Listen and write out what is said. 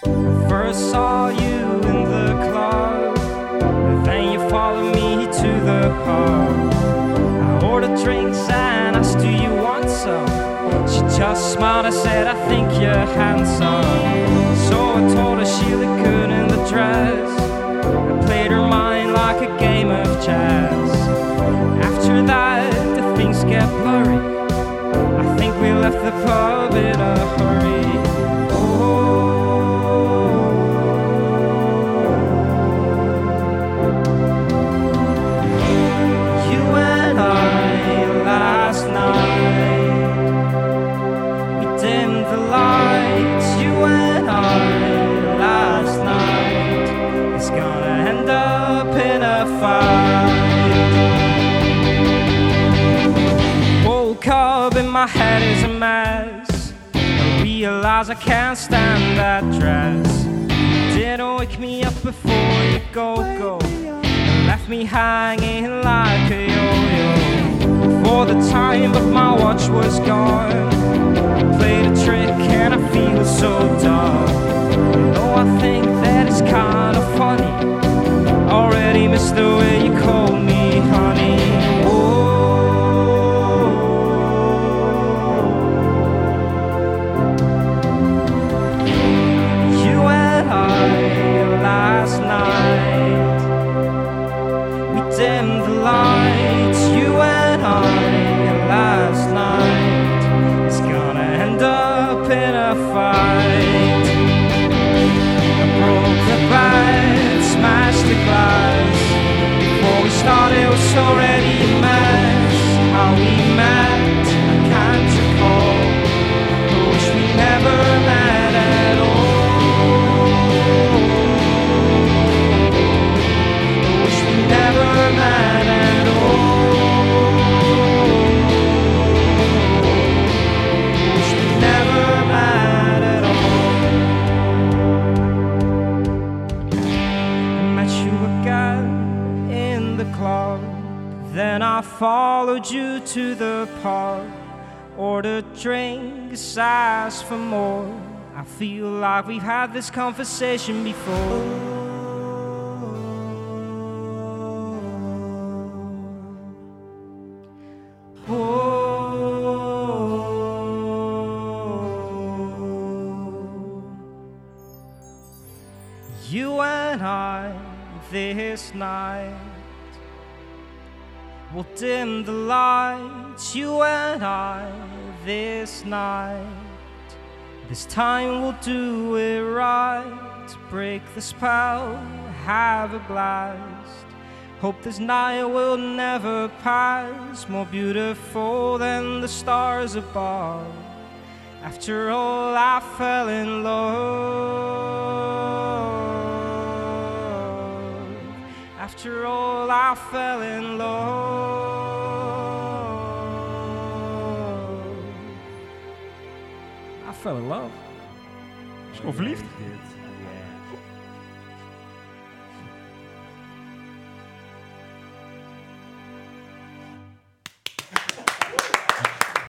I first saw you in the club, and then you followed me to the pub. I ordered drinks and asked, do you want some? She just smiled and said, I think you're handsome. So I told her she looked good in the dress. I played her mind like a game of chess. After that, the things get blurry. I think we left the pub in a hurry. You and I last night, we dimmed the lights. You and I last night, it's gonna end up in a fight. Woke up and my head is a mess. I realize I can't stand that dress. Didn't wake me up before you go. And left me hanging like a yo-yo. For the time, but my watch was gone. I played a trick and I feel so dumb. You know, I think that it's kind of funny. Already missed the way you called me honey. You and I last night, we dimmed the lights. You and I last night, it's gonna end up in a fight. I broke the bed, smashed the glass. Before we started, it was already a mess. How we met, I can't recall. I wish we never met at all. I wish we never met at all. I wish we never met at all. I met you again in the club. Then I followed you to the pub. Ordered drinks, asked for more. I feel like we've had this conversation before. You and I this night, we'll dim the lights. You and I this night, this time we'll do it right. Break the spell, have a blast. Hope this night will never pass. More beautiful than the stars above. After all, I fell in love. After all, I fell in love. I fell in love. Is gewoon verliefd?